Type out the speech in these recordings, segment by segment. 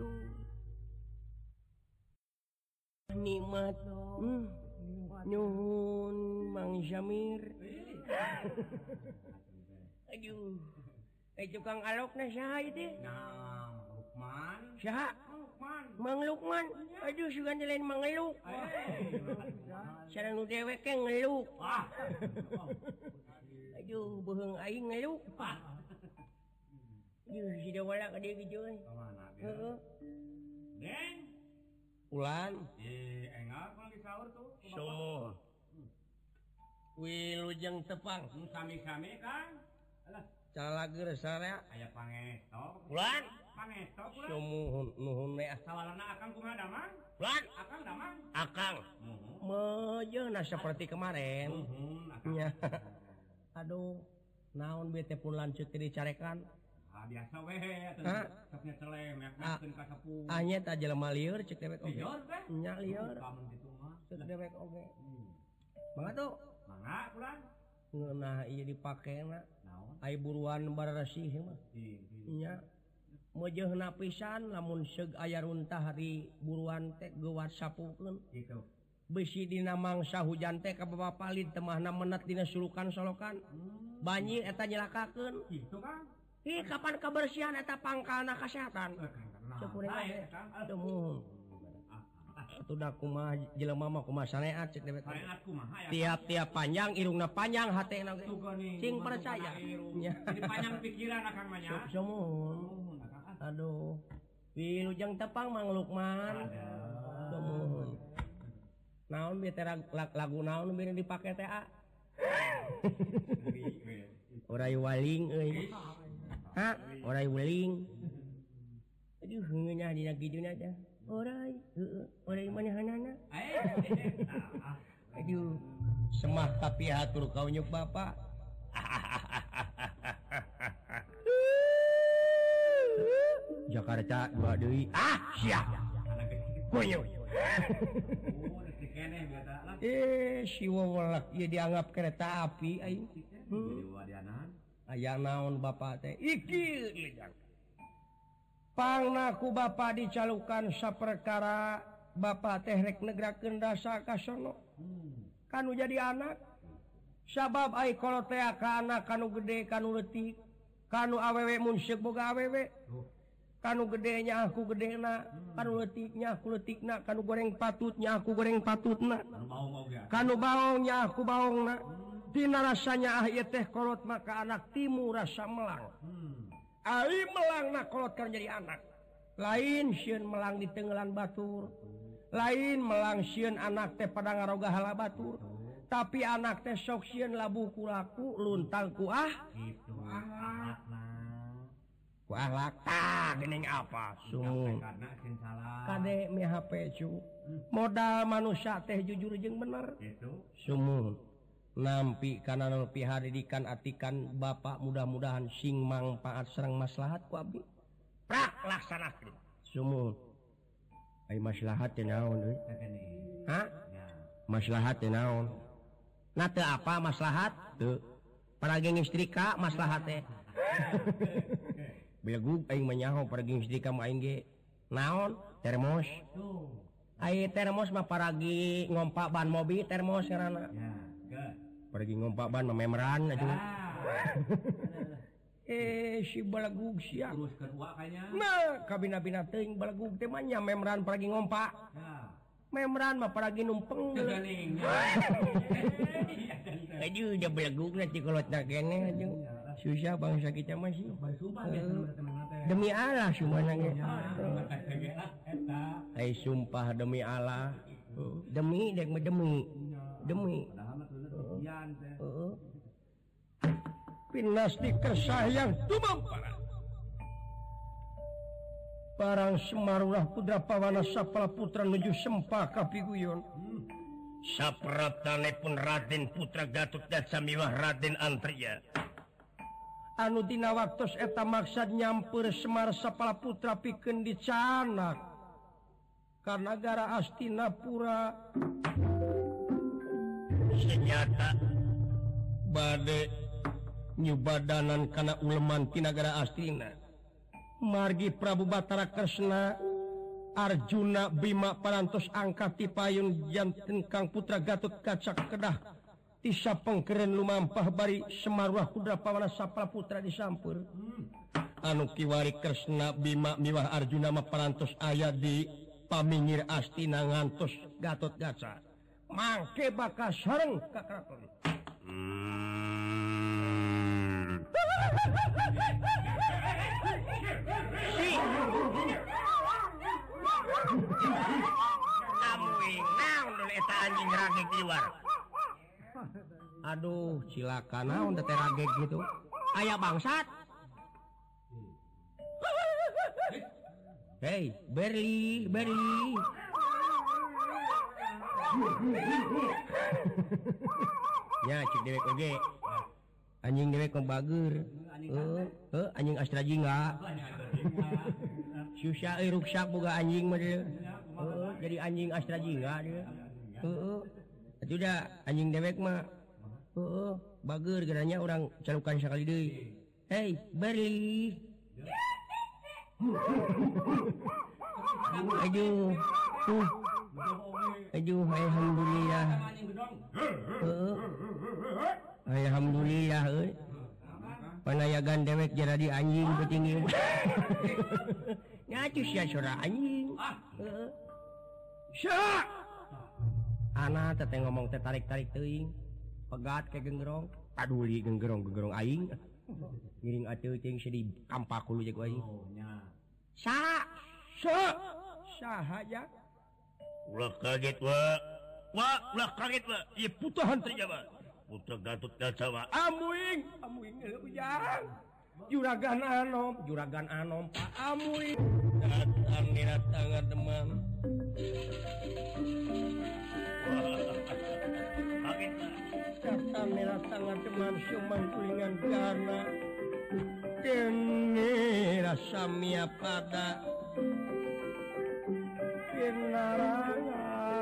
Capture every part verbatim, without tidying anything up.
aduh nikmat hmm. Nyuhun Mang Jamir aduh eh tukang alok na saha itu nah Lukman saha Lukman Mang Lukman aduh sugan lain mangeluk sareng nu dewek ke ngeluk ah aduh beheung aing ngeluk aduh si dawala ka dieu kitu euy heeh Deng ulan eh enggak kalau disaur tuh somo wilujeng tepang sami-sami kan alah calager sarea aya pangesto ulan pangesto ulan somuhun nuhun we sawalarna akang kumaha damang ulan akang damang akang muhun mejeuna seperti kemarin muhun akang nya aduh naon bete pun lanceut dicarekan ah biasa we atuh sapnya celem yak Ah. naskeun ka sepuh anya ta jelema lieur cek dewek oge lieur teh nya lieur kamu kitu mah cek dewek oge hmm. mangga tuh mangga ulan ngeunah ieu dipakena naon ai buruan bararesih mah di nya meujeuna pisan lamun seug aya runtah di buruan teh geuwat sapukeun gitu besi dina mangsa hujan teh ka papalit temahna menat dina sulukan solokan hmm. banjir eta nyelakakeun gitu kan ih kapan kebersihan eta pangkalna kesehatan Cepuring temu atuh da kumaha jelema mah kumaha saneat cek dewek tiap-tiap panjang irungna panjang hatena ge sing percaya nya jadi panjang pikiran akang mah nya sumuhun aduh wilujeng tepang Mang Lukman sumuhun naon bieu teh lagu naon beureun dipake teh a orai waling euy ha orai waling aduh nya dina kideuna teh orai heeh orai manahanana aduh semah tapi hatur kaunyuk bapak Jakarta dua deui ah sia kunyuk eh si wewelek ieu dianggap kereta api aing aya naon bapak teh iki pangna ku bapak dicalukan saperkara bapak teh rek negrakeun dasa ka sono kanu jadi anak sabab ai kolot teh ka anak kanu gede kanu leutik kanu awewe mun seuk boga awewe kanu gedenya aku gedena kanu leutiknya aku leutikna kanu goreng patutnya aku goreng patutna kanu baongnya aku baongna dina rasanya ah ieu teh kolot maka anak timu rasa melang ai melangna kolot kan jadi anak lain sieun melang di tenggelan batur lain melang sieun anak teh pada ngaroga hala batur tapi anak teh sok sieun labuh ku laku luntang ku ah gitu akhlak ku akhlak tah geuning apa sung kade mi H P cu modal manusia teh jujur jeung bener gitu sumuhun nampi kana nepi hadidikan atikan bapak mudah-mudahan sing mangpaat sareng maslahat ku abdi prak laksanakeun sumuhun ai maslahat teh naon euy ha maslahat teh naon na teu apa maslahat teu paragi istrika maslahat teh belegug aing manyaho paragi istrika mah aing ge naon termos ai termos mah paragi ngompak ban mobil termos ngaranna pergi ngompak ban mememeran aja eh si balagug sia terus kedua kayaknya nah kabina-bina teuing balagug teh mah nya memeran pergi ngompak memeran mah pergi numpeng aduh da balagug na cikolotna keneh aja susah bangsa kita mah sih demi Allah sumana ge ai sumpah demi Allah demi dek mah demi demi pinasti kesayang tumampara barang Semarurah Putra Pawana Sapala Putra nuju Sempaka Piguyon sapratanepun Raden Putra Gatot Kaca Raden Antria anu dina waktos eta maksad nyampeur Semar Sapala Putra pikeun dicanak ka nagara Astinapura senyata bade nyubadanan kana uleman ti nagara Astina margi Prabu Batara Kresna Arjuna Bima parantos angkat tipayun janten Kang Putra Gatot Kaca Kedah tisa pengkeren lumampah bari Semarwah Kudra Pawana Sapra Putra disampur anu kiwari Kresna Bima miwah Arjuna mah parantos aya di paminggir Astina ngantos Gatot Kaca mangke bakal sareng ka keraton si amuing naon dulu eta anjing rageg di luar. Aduh, cilaka naon teh rageg gitu. Aya bangsat. Hei, Berli, Berli. Ya, cik dewek oge. Anjing dewek mah bager. Heuh, heuh anjing Astra Jingga. Susah euy ruksak boga anjing mah dia. Heeh, jadi anjing Astra Jingga dia. Heeh. Atuh da anjing dewek mah heeh, bager geranya orang calukan sakali deui. Hei, Berli. Aduh. Uh. Aduh, alhamdulillah. Heeh. Alhamdulillah euy. Panayagan dewek jadi anjing petinggi. Nyacus ya sora anjing. Heeh. Sya. Ana teh ngomong teh tarik-tarik teuing. Pegat ke genggerong, paduli genggerong-genggerong aing. Ngiring atuh teuing sedih kampak kulu jeung aing. Sa. Sa. Sahaja. Ulah kaget wa. Wa, ulah kaget wa. Ieu putahan teh jaba. Putra Gatot Kaca wa. Amuing, amuing ujang. Juragan Anom, juragan Anom Pak Amuing. Datang nirat tangan teman. Kaget wa. Datang nirat tangan teman suman kulingan gana. Kene rasa mia pada. Kenarangan.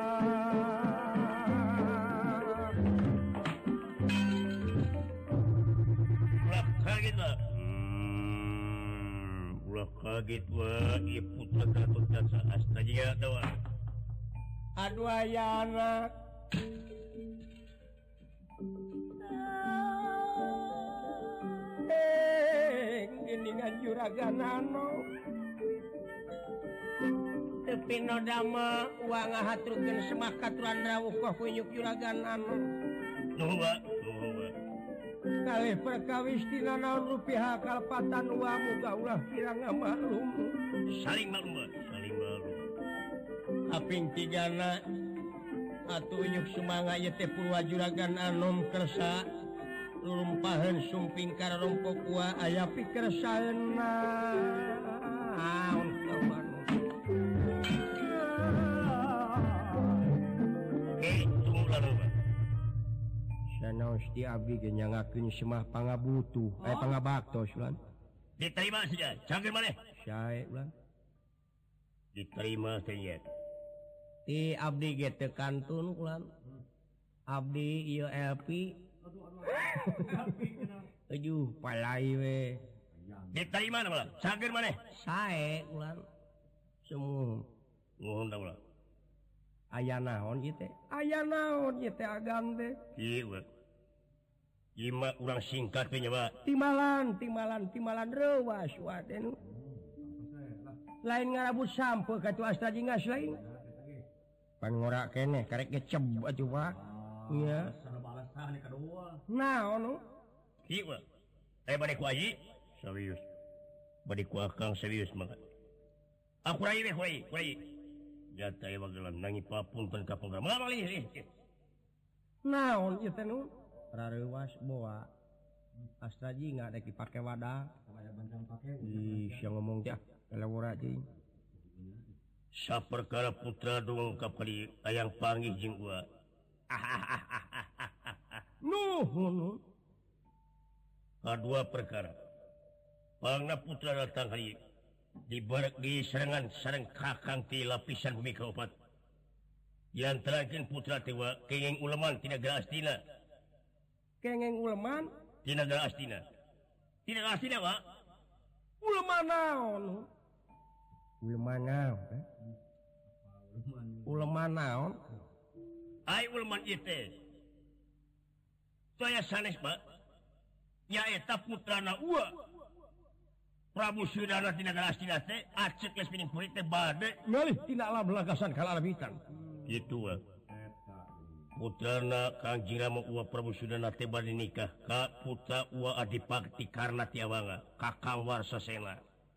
Kaget wa. Hmm, ulah kaget wa. Ieu putra Gatot Kaca Astra Jingga dawa. Aduh aya anak. Eh, geningan juragan Anom. Tepi no dama uang ngahaturkeun semah katuran rawuh ka kunyuk juragan Anom. Nuhun wa, nuhun wa. Kalih perkawis tina naon rupiah kalpatan wa muga ulah kirang maklum. Saling maklum wa, saling maklum. Kaping tigana atuh unyuk sumangga ieu teh purwa juragan Anom kersa lulumpaheun sumping kararompok wa aya pikersaeunna. Naon kawan. Eh, tunggu lalu wa. Sanaos ti abdi ge nyangakeun semah pangabutuh, eh pangabaktos ulan. Diterima saja, cangkeun maneh. Sae ulan. Diterima saja. Ti abdi ge teu kantun ulan. Abdi ieu L P. Aduh, palai we. Diterima na ulah, cangkeun maneh. Sae ulan. Semu. Nuhun da ulah. Aya naon ieu teh? Aya naon ieu teh agam teh? Ieu wa. Ieu mah urang singkat we nya wa. Timalan, timalan, timalan reuwas wa teh nu. Lain ngarabut sampeu ka tu Astra Jingga lain. Pan ngora keneh karek geceb atuh Pak. Iya. Naon nu? Ieu wa. Eh bade ku aji serius. Bade ku akang serius mangga. Aku rai we kuai, kuai. Jata ya wagelan nangi papunten ka pangga. Mangga lih. Naon ieu teh nu? Rareuwas boa. Astra Jingga dek dipake wadah. Ih, sia ngomong teh kelewura jeung. Saperkara putra dongeng ka pari ayang panggih jeung gua. Nuhun. Kadua perkara. Pangna putra datang hari di barak di serangan sareng kakang ti lapisan bumi kaopat. Yang terakhir putra tewa kenging uleman tina Negara Astina. Kengeng uleman Tina Negara Astina. Tina Negara Astina wa. uleman naon? Uleman naon? Eh? uleman naon ai uleman ieu teh saya sanes Pak nyaeta putrana Uwa Prabu Sudana tina negara Astina teh acek geus pining purit teh bade ngalih tina alam lagasan kalalabitan kitu we putrana Kang Jirama Uwa Prabu Sudana teh bade nikah ka putra Uwa Adipakti Karna Tiawanga Kakang Warsasena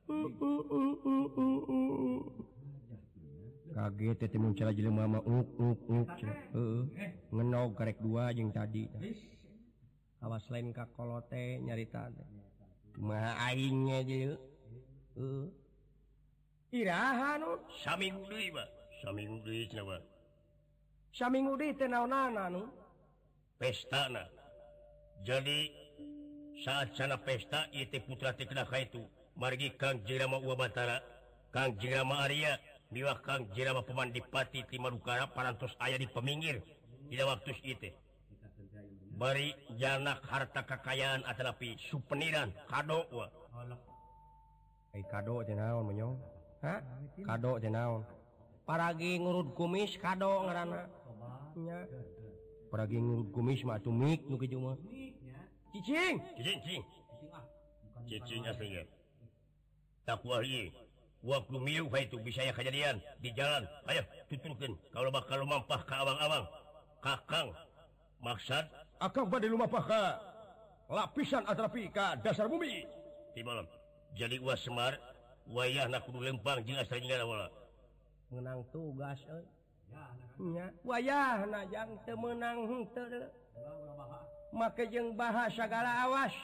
kaget teh muncul jelema mah uk uk uk heeh ngenog karek dua jeung tadi awas lain ka kolote nyarita teh mah aing ge heeh iraha nu saminggu deui Pak saminggu deui cenah Pak saminggu deui teh naonana nu pestana jadi saat sana pesta ieu teh putra teh kena ka itu margi Kang Jirama Uwa Batara Kang Jirama Arya miwah Kang Jirama Pemandipati ti Madukara parantos aya di peminggir dina waktu ieu teh bari janak harta kekayaan atanapi supeniran kado wa ai kado teh naon monyong ha kado teh naon paragi ngurut kumis kado ngaranna nya paragi ngurut kumis mah atuh mik nu kitu mah cicing cicing cicing cicing aslinya tak wahyi waktu miu itu bisa ya kejadian di jalan ayo tuturkeun kalau bakal lumampah ka abang-abang kakang maksud akang bade lumampah ka lapisan atrapi ka dasar bumi di malam jadi Uwa Semar wayahna kudu lempang jeung asal jeung wala menang tugas euy nya wayahna jang teu meunang henteu deui make jeung bahasa sagala awas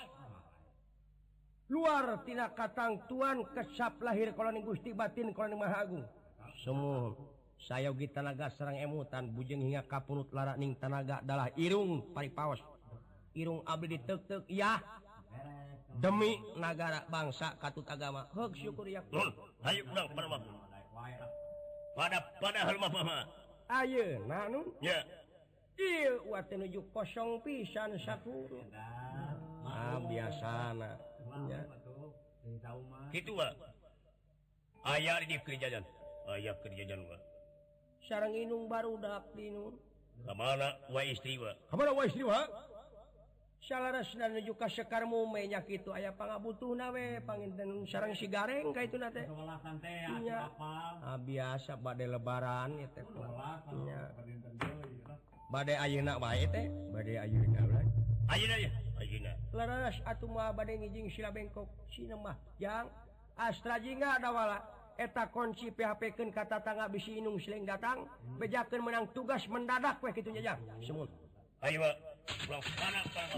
luar tina katangtuan kesap lahir koloni Gusti batin koloni Maha Agung semua sayogi tanaga sareng emutan bujeng hingga kapunut lara ning tanaga adalah irung paripaos irung abdi diteuk-teuk ya demi nagara bangsa katut agama heug syukur ya nun hayu urang pada mah pada padahal mah mah ayeuna nun nya ieu wa teh nuju kosong pisan saturu ah biasana nya kitu wa aya di kerjaan aya kerjaan wa sareng inung barudak dinu ka mana wa istri wa ka mana wa istri wa salarasna nuju ka Sekar Mume nya kitu aya pangabutuhna we panginten sareng si Gareng ka ituna teh nya ah biasa bade lebaran ieu teh nya bade ayeuna bae teh bade ayeuna we ayeuna ya ayeuna laras atuh mah bade ngijing sila bengkok sina mah jang astra jingga da wala eta kunci P H P-keun ka tatangga bisi inung sileng datang bejakeun menang tugas mendadak we kitu nya jang semun ayo Pak pulang sana sana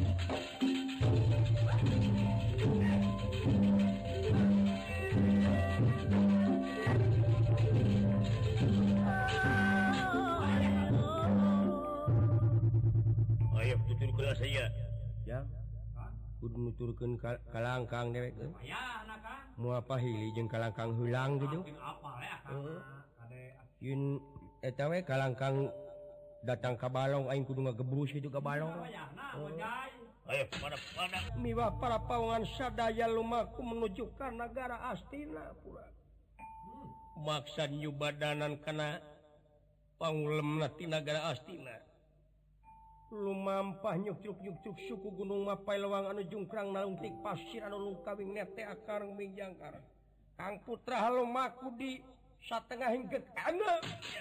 ayo tutur kelas saya ya kudu nuturkeun ka kalangkang dewek moal pahili jeung kalangkang heulang gitu heeh yen eta we kalangkang datang ka balong aing kudu ngagebrus kitu ka balong ayo pada pada miwah para pawangan sadaya lumaku menuju ka negara Astina pura maksad nyubadanan kana pangulemna ti negara Astina lumampah nyuk-nyuk-nyuk suku gunung Mapai lewang anu jungkrang nalungtik pasir anu lungkawing nete akar mingjangkar Kang putra halumaku di satengah hingga kana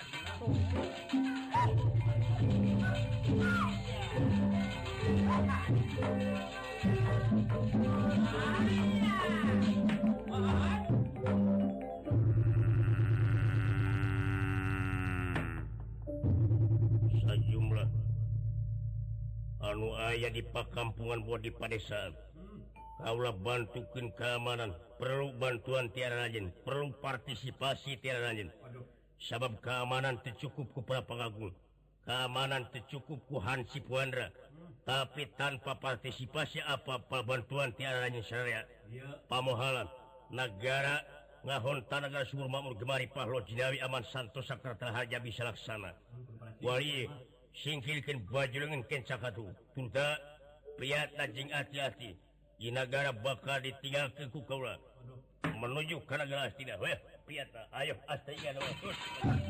sajumlah anu aya di pakampungan buat di padesaan kaulah bantukeun keamanan perlu bantuan tiara rajin perlu partisipasi tiara rajin sabab keamanan tercukup ku para pangagung keamanan tercukup ku Hansip Wandra tapi tanpa partisipasi apa-apa bantuan tiara rajin syariat pamohalan negara ngahonta negara subur makmur gemari pahlo jinawi aman santosa kerta harja bisa laksana wali singkilkeun bajulungan ken sakatu tunda priat najing hati-hati di negara bakal ditinggalkeun ku kaula menuju ke negara tidak weh piata ayo astainya dong terus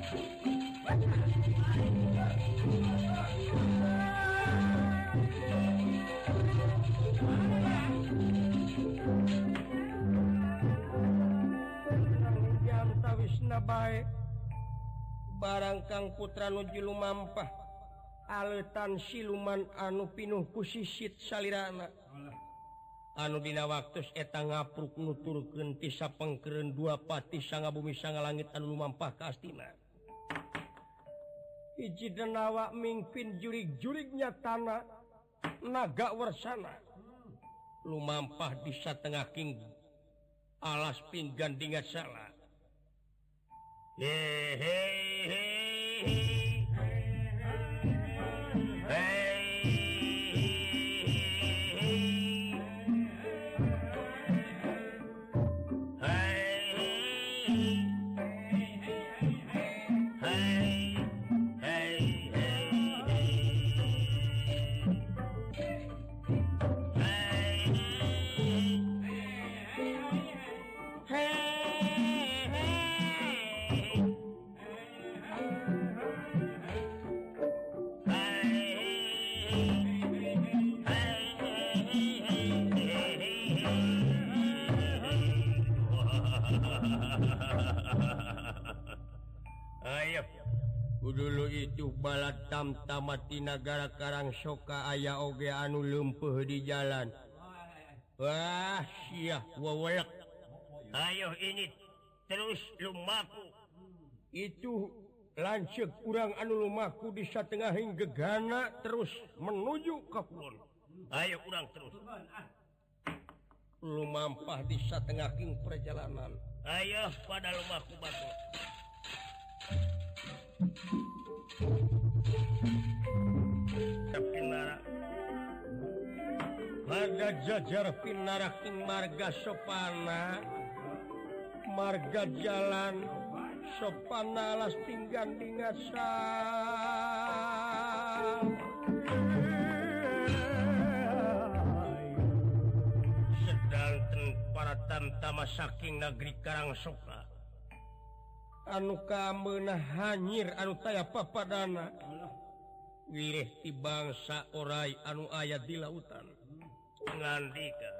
jam tawisna bae barang Kang Putra nuju lumampah aletan siluman anu pinuh ku sisit salirana anu dina waktu eta ngapruk nuturkeun ti sapengkereun dua pati sanga bumi sanga langit anu lumampah ka astina hiji denawa mingpin jurig-jurignya tanah naga warsana lumampah di satengah king alas pinggan dingat salah he he he dulu itu balat tam-tamati negara Karang Soka aya oge anu leumpeuh di jalan wah sia wewelek ayo ini terus lumaku itu lanceuk urang anu lumaku di satengahing gegana terus menuju ka kulon ayo urang terus lumampah di satengahing perjalanan ayo pada lumaku batu Pinara marga jajar pinara king marga sopana marga jalan sopana alas pinggan dingasa sedanten para tamtama saking negeri Karang Soka anu kameunah hanyir anu taya papadana wirih ti bangsa orai anu aya di lautan ngandika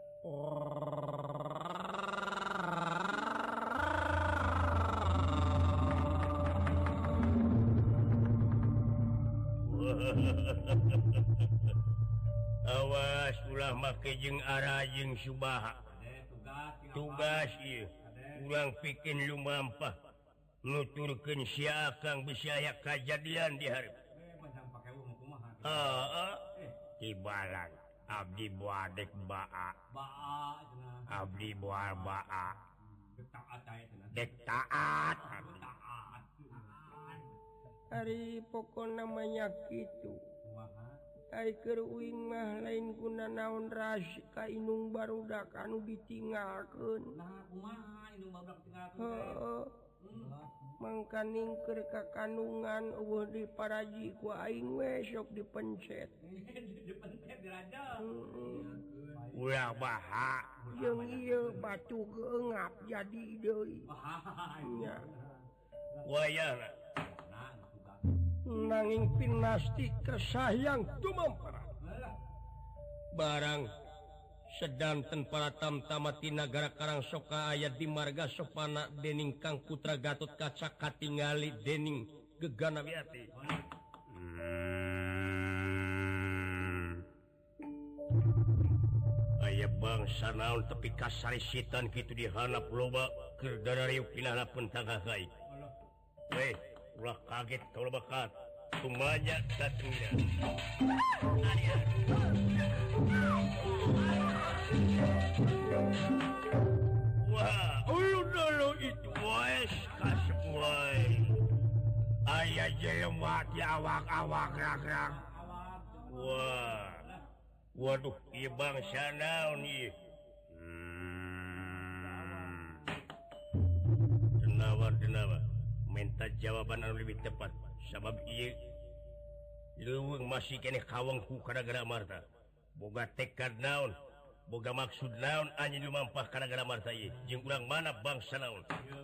awas ulah make jeung ara jeung subaha tugas ieu ulang bikin lumampah nuturkeun sia Kang bisa aya kajadian di hareup heeh ti balang abdi buadek baa abdi buar baa dek taat hari pokok namanya gitu ai keur uing mah lain guna naon rasi ka inung barudak anu ditinggalkeun nah kumaha inung barudak tinggalkeun mangka ningker ka kandungan eueuh diparaji ku aing we sok dipencet dipencet diraja ulah baha jeung ieu batu geungap jadi deui nya wayana nanging pinasti kesayang tumampara barang sedanten para tamtamati nagara Karang Soka ayat di marga sopana dening Kang Putra Gatot Kaca katingali dening gegana wiati hmm. aya bangsa naon tepi kasarisitan kitu dihanap loba keur darariuk pinana pentangah kai weh ulah kaget kalau bakat tumaja datengnya wah ulu dulu itu wes kasep woi ayah jelema di awak-awak rak-rak wah waduh ieu bangsa naon ieu hmm. denawa denawa minta jawaban anu lebih tepat sabab ieu leuweung masih keneh kawengku gara-gara marta boga tekad naon boga maksud naon anjeun lumampah ka nagara marta ieu jeung urang mana bangsa naon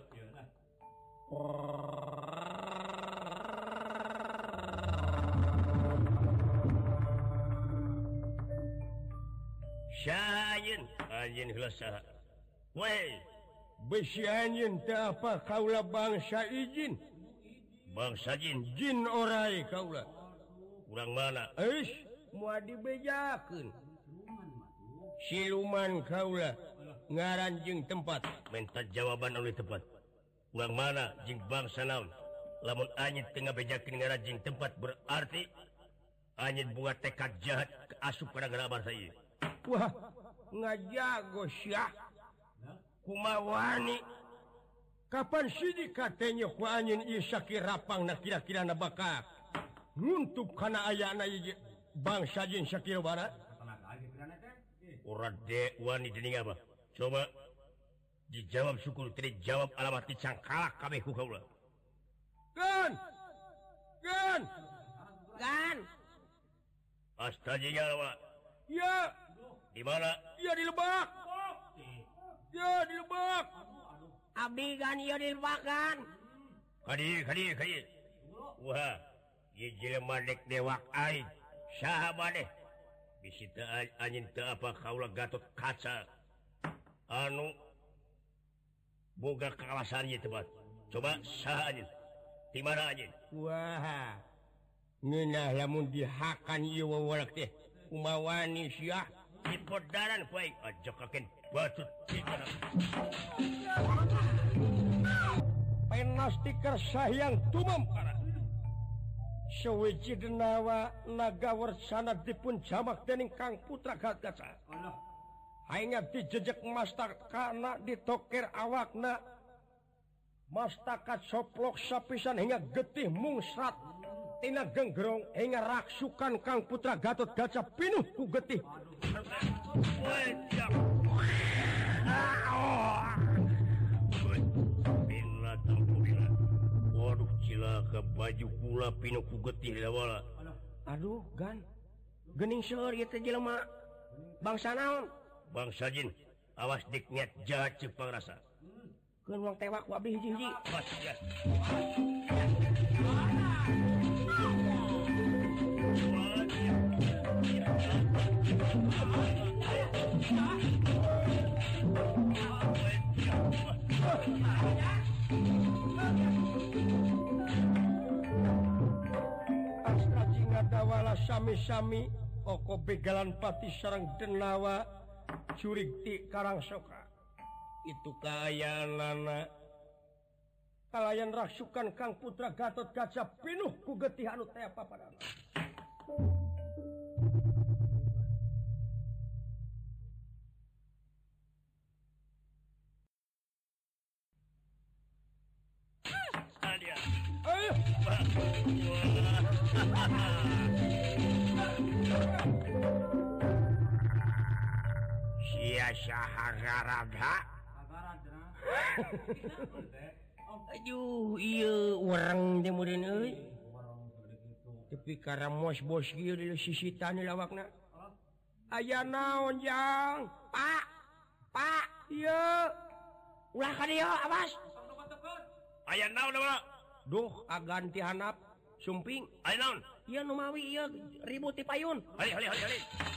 Syayin anjeun heula saha weh besi anjeun teh apa kaula bangsa izin bangsa jin jin orai kaula urang mana eus moal dibejakeun siluman kaula ngaran jeung tempat minta jawaban oleh tepat urang mana jeung bangsa naon lamun anjeun teu ngabejakeun ngaran jeung tempat berarti anjeun boga tekad jahat asup ka nagara bangsa ieu wah ngajago syah kumawani kapan sidi katanya ku anjeun ieu sakirapangna kira-kirana bakal nguntup kana ayana ieu bangsa jeung sakira bara urang de wani dening apa coba dijawab syukur teu dijawab alamat dicangkalak kabeh ku kaula gan gan gan astaga wa ya di mana ya di Lebak ya di Lebak abdi gan ieu di Lebak gan kadi kadi kadi wah ieu jelema dek dewak aing saha maneh bisi teu anjeun teu apa kaula Gatot Kaca anu boga kakawasan ieu teh coba saha anjeun di mana anjeun wah ngeunah lamun dihakan ieu wawalak teh kumawani sia di podaran ku aing ajokakeun batu tigana penastiker sahyang tumampara sawiji denawa naga warsana dipun jamak dening Kang Putra Gatot Kaca hainga dijejek mastakana ditokir awakna mastakat soplok sapisan hingga getih mungsrat tina genggerong hingga raksukan Kang Putra Gatot Kaca pinuh ku getih bila tampusna waduh cilaka baju kula pinuh ku getih lawala aduh gan geuning seueur ieu teh jelema bangsa naon bangsa jin awas dik niat jahat ceuk pangrasa keun wang tewak ku abdi hiji-hiji pas ya astra jingadawala sami-sami oko begalan pati sareng denawa curig ti Karangsoka itu kayanana kalayan rasukan Kang Putra Gatot Kaca pinuh ku getih anu teh papadana alia ayo sia sahagaraga aduh ieu urang teh mureun euy tapi karena mos-bos ieu di sisitan lawakna aya naon jang pak pak ieu ulah ka dieu awas aya naon da duh agan ti handap sumping aya naon ieu nu mawi ieu ribut ti payun hali hali hali hali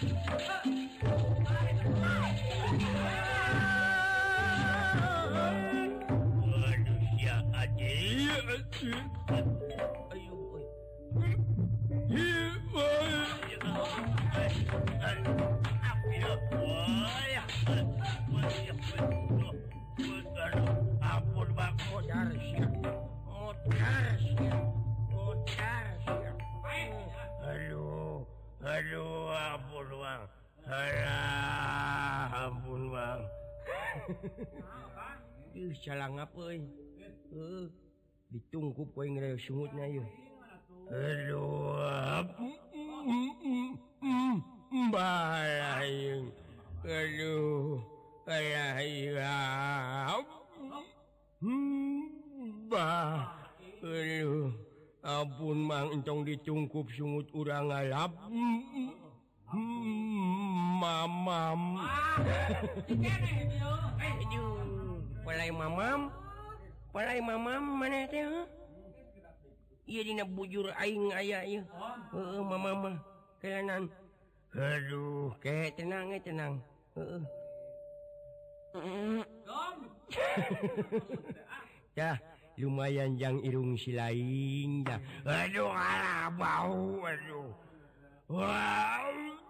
waduh sia aje ayo euy ampun bang modar sia modar sia modar sia aduh aduh ampun bang alah ampun bang ih salang apa euy heuh ditungkup we ngeureun sungutna ieu aduh balayeng aduh balayeng bah aduh ampun mang entong ditungkup sungut urang ngalap mamam Palai mamam Palai mamam mana teh iya dina bujur aing aya ieu heeh mamam mah kelanan aduh kayak tenang eh tenang heeh ya lumayan jang irung si laing ya aduh alah bau aduh wow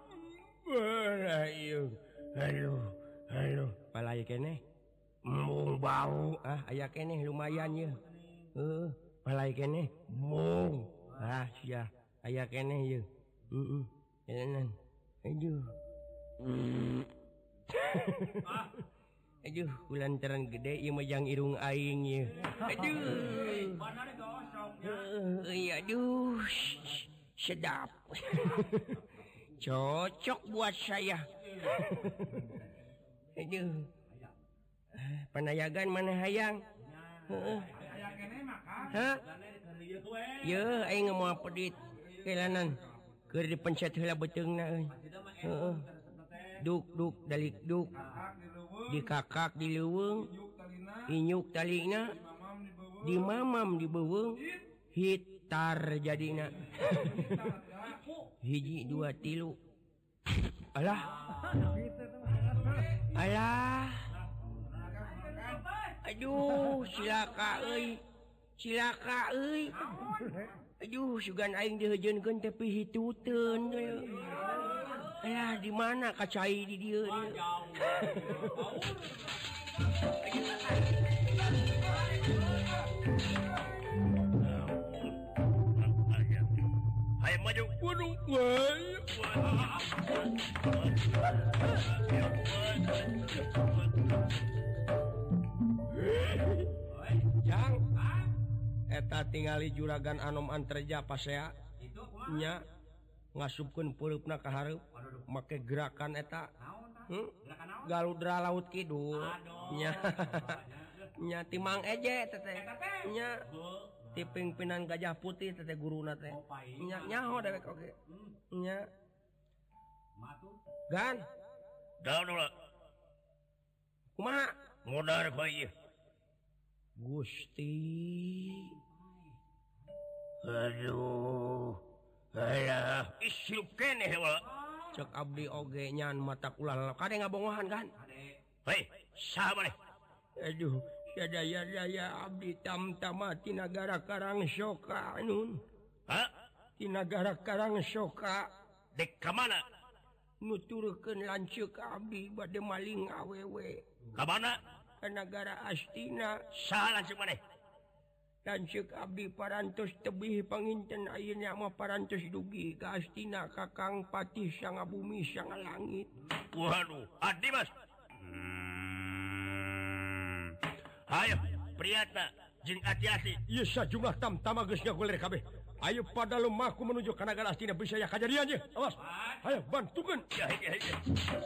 aduh aduh aduh palai keneh mung bau ah aya keneh lumayan ya heeh palai keneh mung ah sia aya keneh ye heeh enan aduh aduh kulantaran gede ieu mah jang irung aing ye aduh iya aduh sedap cocok buat saya aduh panayagan mana hayang heeh hah ye aing moal pedit kelanan keur dipencet heula beteungna euy heeh duk duk dalik duk dikakak di leuweung inyuk talina di mamam di beuweung hitar jadina hiji dua tilu alah alah aduh silaka euy silaka euy aduh sugan aing dihejeunkeun tapi hituteun deui alah di mana kacai di dieu dieu Ayo maju. waduh wah jang eta tingali juragan anom antreja pasea nya ngasupkeun peulupna ka hareup make gerakan eta hmm? galudra laut kidul nya nya timang eje teteh nya ti pingpinan gajah putih teteh guruna teh nya nyaho dewek oge nya gan Daun ulah. kumaha Modar ka ieu. Gusti Aduh. Alah, isiup keneh heula. cek abdi oge nyan mata ulah kade ngabongohan kan Hei, saha maneh? aduh sadaya-daya abdi tamtama ti nagara Karangsoka nun Hah? ti nagara Karangsoka Dek ka mana? nuturkeun lanceuk abdi bade maling awewe Ka mana? ka nagara Astina Saha lanceuk maneh? lanceuk abdi parantos tebih panginten ayeuna mah parantos dugi ka Astina Kakang Patih Sanga Bumi Sanga Langit. Waduh, adi mas. Hmm. Ayo, priyatna, jeung hati-hati. Ieu sajumlah tamtama geus ngagulir kabeh. Ayo pada lumaku menuju ka nagara Astina bisa ya kajadian ye. Awas. Ayo bantukeun. Ya, ya, ya.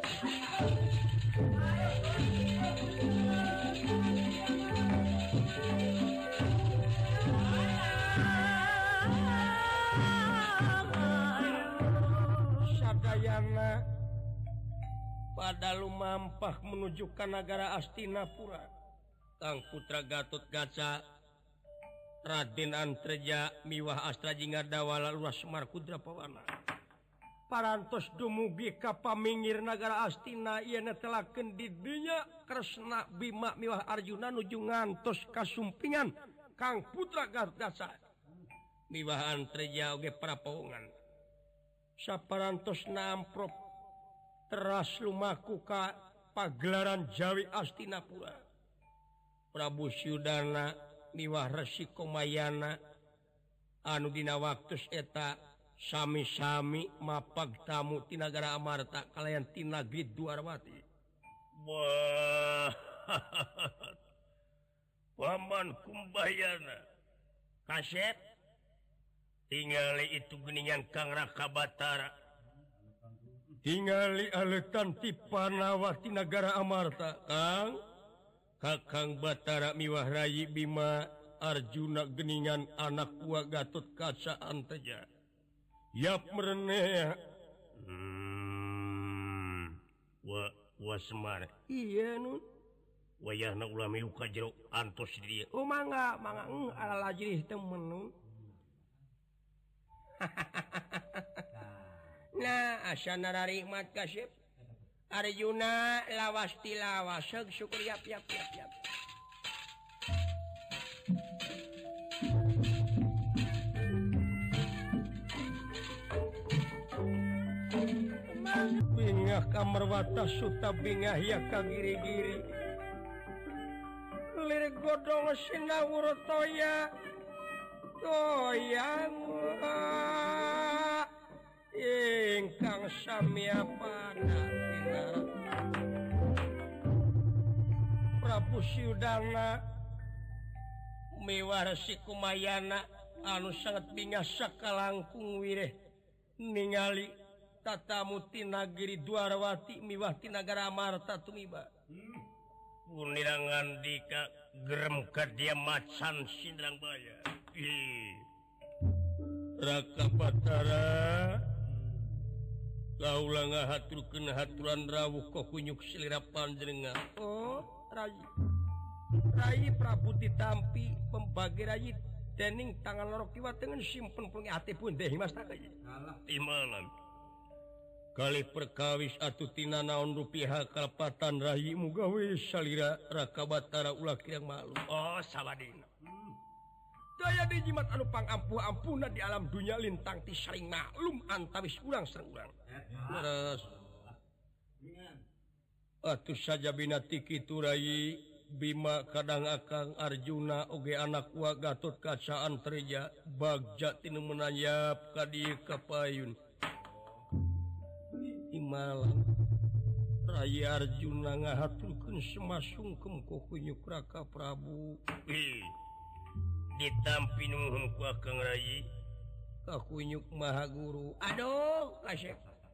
Sadayana pada lumampah menuju ka nagara Astinapura. Kang Putra Gatot Kaca Raden Antreja miwah Astra Jingadawala Lurah Semar Kudra Pawana Parantos dumugi ka pamingir nagara Astina ieu netelakeun di dinya Kresna Bima miwah Arjuna nuju ngantos kasumpingan Kang Putra Gatot Kaca miwah Antreja oge prapaungan saparantos namprop teras lumaku ka pagelaran Jawi Astinapura. Prabu Syudana miwah Resi Komayana anu dina waktus eta sami-sami mapag tamu ti nagara Amarta kalayan ti nagri Dwarawati. Wah. Paman Kumbayana. Kasep. Tingali itu geningan Kang Raka Batara. Tingali alekan ti Panawa ti nagara Amarta, Kang. Kakang Batara miwah Rayi Bima Arjuna geningan anak buah Gatot Kaca Antreja. Yap mereneh. Hmm. wa Semar iya nun wayahna ulah milu ka jero antos di dia oh mangga mangga eng ala lajrih temen nun nah asana rarikmat kasep Arjuna lawas tilawas seug syukur yap yap yap yap bingah kamarwata suta bingah ya kagiri-giri lirik godong sinawur toya toyang ingkang samyapana Prabu Siudana miwarsi kumayana anu sangat bingah sakalangkung wireh ningali tatamu ti nagiri Dwarawati miwah ti nagara Amarta tumiba Punirangan dika gerem ka dia macan sindrang baya Raka Batara kaula ngahaturkeun haturan rawuh ka kunyuk silira panjenengan oh Rai Rai Prabu ditampi pembagi Rai dening tangan loro kiwa dengan simpen pungi ati pun deh mas tak imanan kali perkawis atuh tina naon rupiah kalpatan Rai mugawe salira Raka Batara ulah kirang malu oh sawadina daya dijimat anu pangampuh ampuna di alam dunia lintang ti saling maklum antawis urang sareng urang leres atuh saja binati kitu Rai Bima kadang akang Arjuna oge anak wa Gatot Kaca Antreja bagja tinu menanyap ka dieu kapayun imalan Rai Arjuna ngahaturkeun semasungkem ku kunyuk Raka Prabu ditampi nuhun ku akang Rai ka kunyuk Maha Guru aduh kasep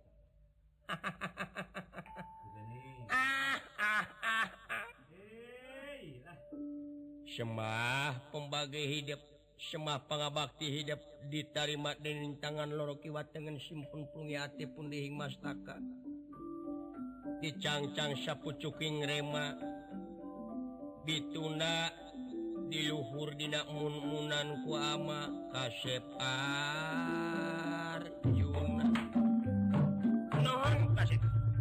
ah ah ah ah semah pembagi hidup semah pangabakti hidup diterima dening tangan loro kiwa dengan simpun pungi ati pun dihing mastaka dicangcang sapucuking rema ditunda diluhur dina mun-munan ku ama kasep Arjuna nuhun kasep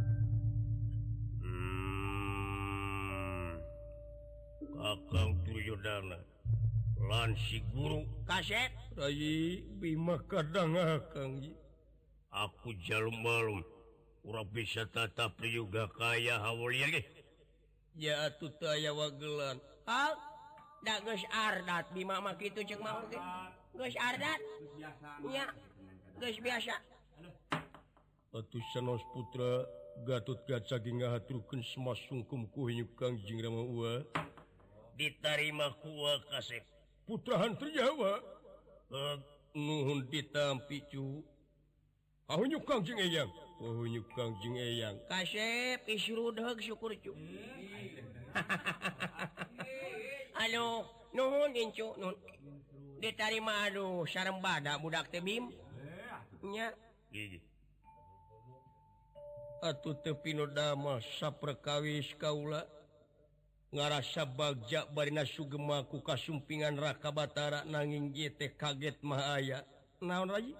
Kakang Duryodana lan si guru kasep Rai Bima kadang akang aku jalum malum ura bisa tatap juga kaya hawalian ge ya atuh teu aya wagelan hal da geus ardat Bima mah kitu ceuk mah oge geus ardat nya geus biasa atuh sanos putra Gatot Kaca ge ngahaturkeun semasungkum ku hinyuk Kangjeng Rama Uwa diterima kuwa kasep putra hantri Jawa uh, nuhun ditampi cu ahunyuk Kangjeng Eyang ahunyuk Kangjeng Eyang kasep isrudeug syukur cu anu nuhun incu nuhun diterima aduh sarembada budak teh Bim nya atuh teu pinodama saperkawis kaula ngarasa bagja barina sugema ku kasumpingan Raka Batara nanging ieu teh kaget mah aya naon Rai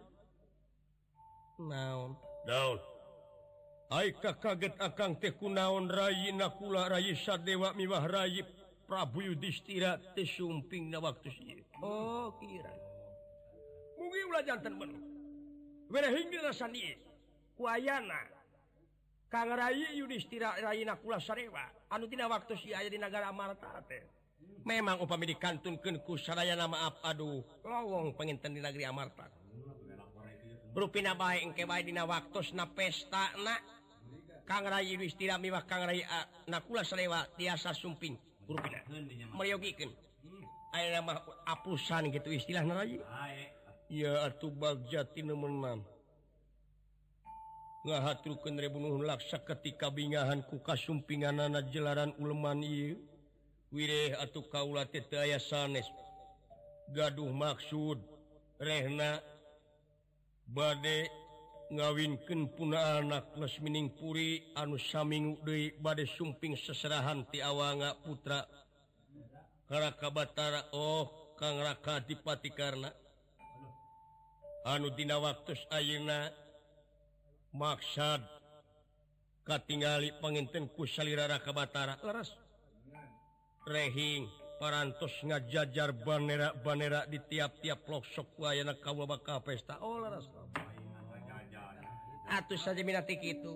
naon naon ai ka kaget akang teh kunaon Rai nakula Rai Sadewa miwah Rai Prabu Yudhistira teh sumpingna waktu ieu oh kira mugi ulah janten bener werehing dirasan ieu ku ayana Kang Rai Yudhistira Rai nakula Sadewa anu tina waktu si aya di nagara Amarta teh memang upami dikantunkeun ku sadayana maaf aduh lowong penginten di negeri Amarta rupina bae engke bae dina waktosna pestana Kang Rai Yudhistira miwah Kang Rai nakula Sadewa tiasa sumping rupina meryogikeun aya mah apusan gitu istilahna Rai ya atuh bagja tinu meunang ngahaturkeun rebunuhun laksa ketika bingahan ku kasumpinganana jelaran uleman ieu wireh atuh kaula teh teu aya sanes gaduh maksud rehna bade ngawinkeun puna anak Lesmining Puri anu saminggu deui bade sumping seserahan ti awanga putra Raka Batara. Oh Kang Raka Adipati Karna anu dina waktos ayeuna maksad katingali panginten ku salira Raka Batara leres rehing parantos ngajajar banera-banera di tiap-tiap pelosok ku ayeuna kaula bakal pesta. Oh leres atuh saja minati kitu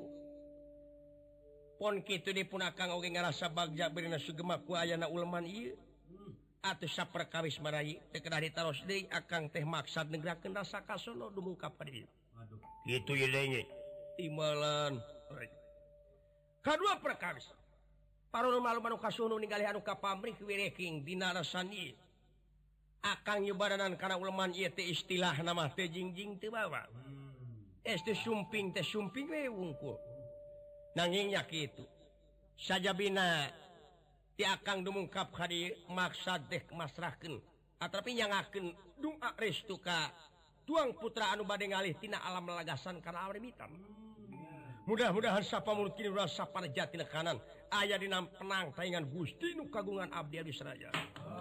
pon kitu dipun akang oge ngarasa bagja beurina sugema ku ayeuna uleman ieu atuh saperkawis marayi teu kedah ditaros deui akang teh maksad negrakeun rasa kasono dumungkap ka dieu. Aduh kitu ye deui timalan kadua perkawis parulun malu anu kasuhun ningali anu ka pamrih wireking dina rasan ieu akang nyubaranan kana uleman ieu teh istilahna mah teh jingjing teu bawa es teh sumping teh sumping we wungkul nanging nya kitu sajabina ti akang dumungkap ka dieu maksad teh masrahkeun atapi nyangakeun doa restu ka tuang putra anu bade ngalih tina alam lagasan kana awrimitan. Mudah-mudahan sapamurid rasa panejatina kanan aya dina penang taingan Gusti nu kagungan abdi abdi sadaya.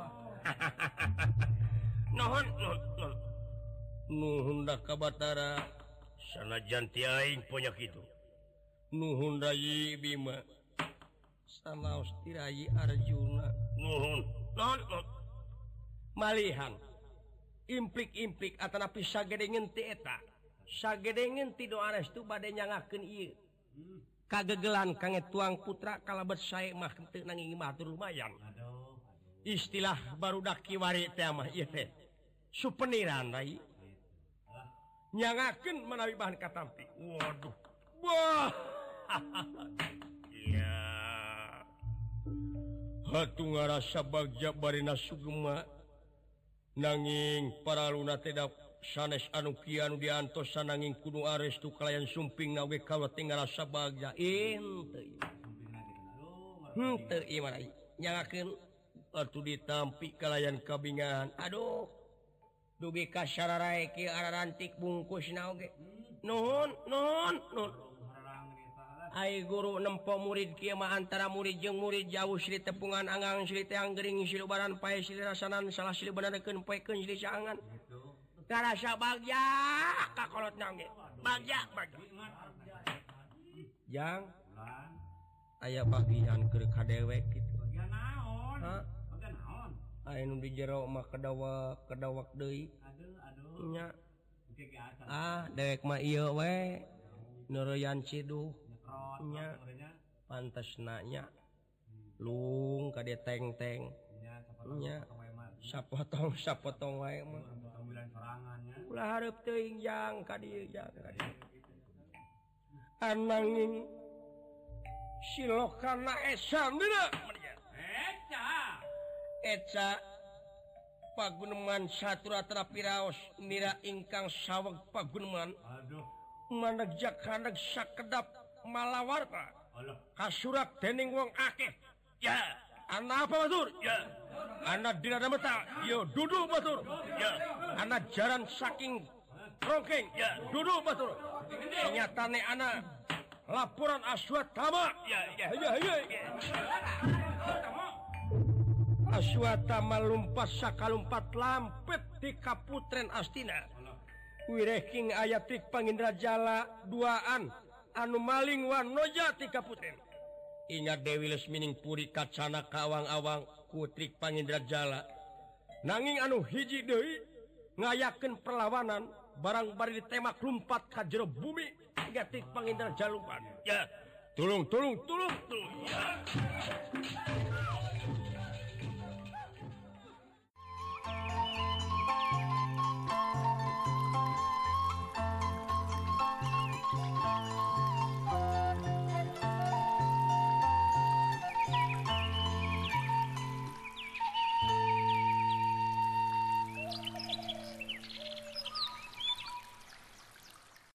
Nuhun nuhun nuhun da ka Batara sanajan ti aing ponya kitu. Nuhun Rayi Bima sanaos ti Rayi Arjuna. Nuhun nuhun malihan implik-implik atanapi sagedengeun ti eta sagedengeun ti doa restu bade nyangakeun ieu kagegelan kange tuang putra kalebet sae mah teu nanging matur lumayan. Istilah barudak kiwari teh mah ieu teh supeniran Rai nyangakeun manawi bahan katampi. Waduh wah iya hatu ngarasa bagja barina sugema nanging paraluna teh sanes anu kieu anu diantosan nanging kudu arestu kalayan sumping na we kaula teh ngarasa bagja henteu henteu ieu mah nyangakeun atuh ditampi kalayan kabingahan. Aduh dugi ka sararae kieu ararantik bungkusna oge nuhun nuhun nuhun ai guru nempo murid kieu mah antara murid jeung murid jauh silih tepungan angang silih teh anggering silih baran pae silih rasanan salah silih benadekeun poekeun silih saangan karasa bagja ka kolotna oge bagja bagja jang aya bagian keur kadewek kitu bagian naon ha bagian naon aya nu di jero mah kedawak kedawak deui aduh aduh nya ah dewek mah ieu we neureyan ciduh nya pantes nanya lung ka dia teng-teng nya sapotong sapotong wae mah ulah hareup teuing jang ka dieu jang ka dieu ananging silokana esa dina eca eca paguneman saturatra piraos mira ingkang saweg paguneman aduh manegja handeg sakedap malawarta kasurak dening wong akeh ya ana apa batur ya ana dina meta yo duduk batur ya ana jaran saking rongkeng ya duduk batur nyatane ana laporan Aswatama ya ya ya ya Aswatama lumpat sakalumpat lampet di Kaputren Astina wireking ayatik Pangindra Jala duaan anu maling wanoja ti Kaputren. Ingat Dewi Lesmining Puri kacana kawang-awang kutrik Pangindra Jala nanging anu hiji deui ngayakeun perlawanan barang bari ditemak lumpat ka jero bumi gatik Pangindra Jala lumpat ya tulung tulung tulung tulung ya